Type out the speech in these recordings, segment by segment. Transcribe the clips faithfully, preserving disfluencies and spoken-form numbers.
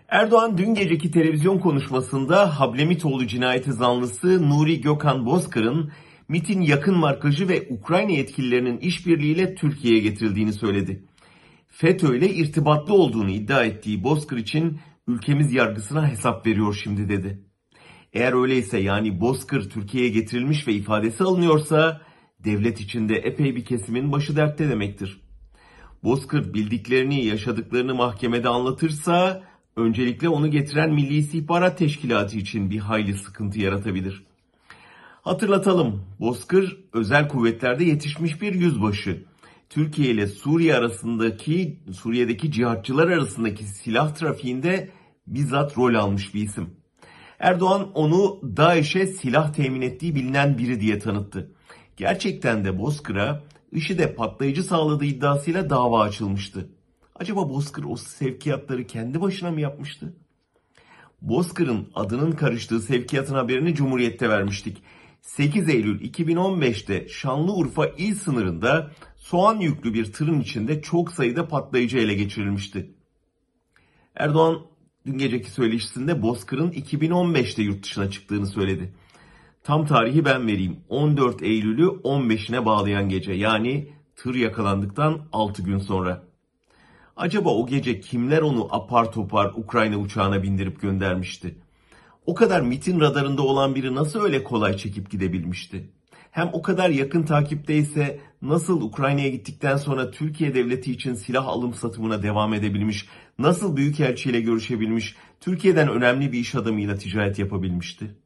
Erdoğan dün geceki televizyon konuşmasında Hablemitoğlu cinayeti zanlısı Nuri Gökhan Bozkır'ın MİT'in yakın markajı ve Ukrayna yetkililerinin işbirliğiyle Türkiye'ye getirildiğini söyledi. FETÖ ile irtibatlı olduğunu iddia ettiği Bozkır için ülkemiz yargısına hesap veriyor şimdi dedi. Eğer öyleyse, yani Bozkır Türkiye'ye getirilmiş ve ifadesi alınıyorsa devlet içinde epey bir kesimin başı dertte demektir. Bozkır bildiklerini, yaşadıklarını mahkemede anlatırsa öncelikle onu getiren Milli İstihbarat Teşkilatı için bir hayli sıkıntı yaratabilir. Hatırlatalım, Bozkır özel kuvvetlerde yetişmiş bir yüzbaşı. Türkiye ile Suriye arasındaki, Suriye'deki cihatçılar arasındaki silah trafiğinde bizzat rol almış bir isim. Erdoğan onu DAEŞ'e silah temin ettiği bilinen biri diye tanıttı. Gerçekten de Bozkır'a IŞİD'e patlayıcı sağladığı iddiasıyla dava açılmıştı. Acaba Bozkır o sevkiyatları kendi başına mı yapmıştı? Bozkır'ın adının karıştığı sevkiyatın haberini Cumhuriyet'te vermiştik. sekiz Eylül iki bin on beş'te Şanlıurfa il sınırında soğan yüklü bir tırın içinde çok sayıda patlayıcı ele geçirilmişti. Erdoğan dün geceki söyleşisinde Bozkır'ın iki bin on beş'te yurt dışına çıktığını söyledi. Tam tarihi ben vereyim. on dört Eylül'ü on beş'ine bağlayan gece, yani tır yakalandıktan altı gün sonra. Acaba o gece kimler onu apar topar Ukrayna uçağına bindirip göndermişti? O kadar MİT'in radarında olan biri nasıl öyle kolay çekip gidebilmişti? Hem o kadar yakın takipteyse nasıl Ukrayna'ya gittikten sonra Türkiye devleti için silah alım satımına devam edebilmiş, nasıl büyükelçiyle görüşebilmiş, Türkiye'den önemli bir iş adamıyla ticaret yapabilmişti?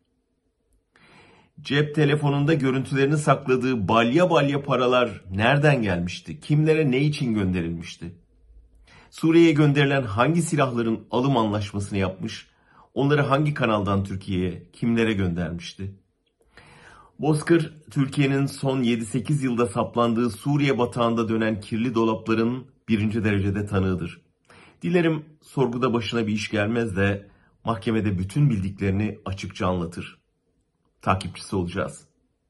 Cep telefonunda görüntülerini sakladığı balya balya paralar nereden gelmişti? Kimlere ne için gönderilmişti? Suriye'ye gönderilen hangi silahların alım anlaşmasını yapmış? Onları hangi kanaldan Türkiye'ye, kimlere göndermişti? Bozkır, Türkiye'nin son yedi sekiz yılda saplandığı Suriye batağında dönen kirli dolapların birinci derecede tanığıdır. Dilerim sorguda başına bir iş gelmez de mahkemede bütün bildiklerini açıkça anlatır. Takipçisi olacağız.